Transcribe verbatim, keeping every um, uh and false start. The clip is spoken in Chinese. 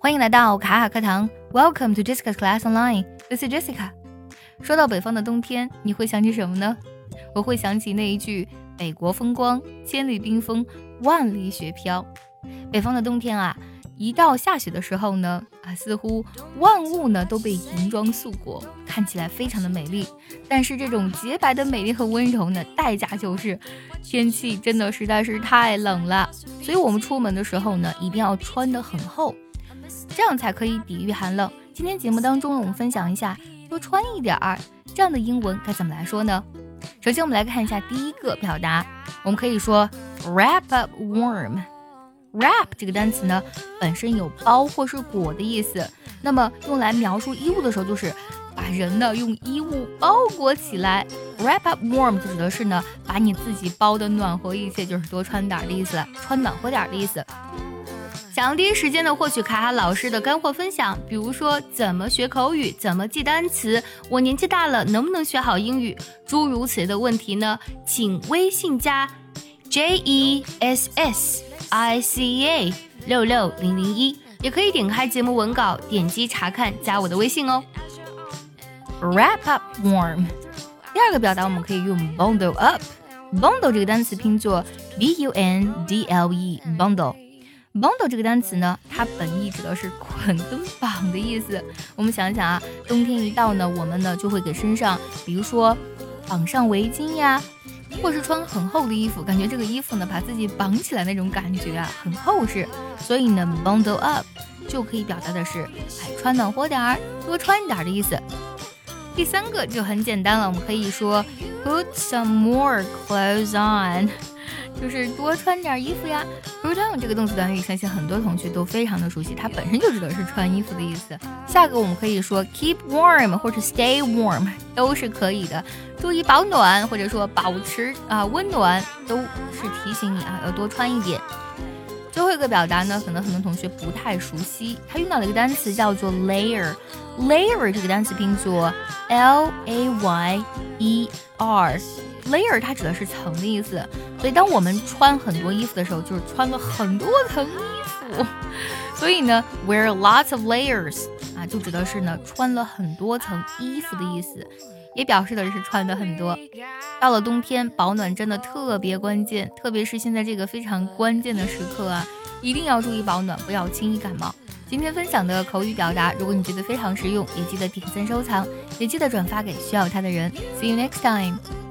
欢迎来到卡卡课堂 Welcome to Jessica's Class Online. This is Jessica. 说到北方的冬天，你会想起什么呢？我会想起那一句北国风光，千里冰封，万里雪飘。北方的冬天啊，一到下雪的时候呢，啊，似乎万物呢都被银装素裹，看起来非常的美丽。但是这种洁白的美丽和温柔呢，代价就是天气真的实在是太冷了。所以我们出门的时候呢，一定要穿得很厚，这样才可以抵御寒冷。今天节目当中呢，我们分享一下多穿一点儿这样的英文该怎么来说呢？首先我们来看一下第一个表达，我们可以说 wrap up warm。wrap 这个单词呢，本身有包或是裹的意思，那么用来描述衣物的时候，就是把人呢用衣物包裹起来。wrap up warm 就指的是呢，把你自己包的暖和一些，就是多穿点的意思，穿暖和点的意思。想要第一时间的获取卡卡老师的干货分享，比如说怎么学口语，怎么记单词，我年纪大了能不能学好英语，诸如此类的问题呢，请微信加 J E S S I C A 六六零零一，也可以点开节目文稿，点击查看，加我的微信哦。Wrap up warm。第二个表达我们可以用 bundle up。bundle 这个单词拼作 B U N D L E bundle。bundle 这个单词呢，它本意指的是捆跟绑的意思。我们想想啊，冬天一到呢，我们呢就会给身上，比如说绑上围巾呀，或是穿很厚的衣服，感觉这个衣服呢把自己绑起来那种感觉啊，很厚实。所以呢 bundle up 就可以表达的是，哎，穿暖和点儿，多穿一点的意思。第三个就很简单了，我们可以说 put some more clothes on，就是多穿点衣服呀。 put on 这个动词短语相信很多同学都非常的熟悉，它本身就指的是穿衣服的意思。下个我们可以说 keep warm 或者 stay warm 都是可以的，注意保暖或者说保持啊温暖，都是提醒你啊要多穿一点。最后一个表达呢，可能很多同学不太熟悉，它用到了一个单词叫做 layer。 layer 这个单词拼作 L A Y E R。 layer 它指的是层的意思，所以当我们穿很多衣服的时候，就是穿了很多层衣服。所以呢 wear lots of layers 啊，就指的是呢穿了很多层衣服的意思，也表示的是穿的很多。到了冬天，保暖真的特别关键，特别是现在这个非常关键的时刻啊，一定要注意保暖，不要轻易感冒。今天分享的口语表达，如果你觉得非常实用，也记得点赞收藏，也记得转发给需要它的人。See you next time.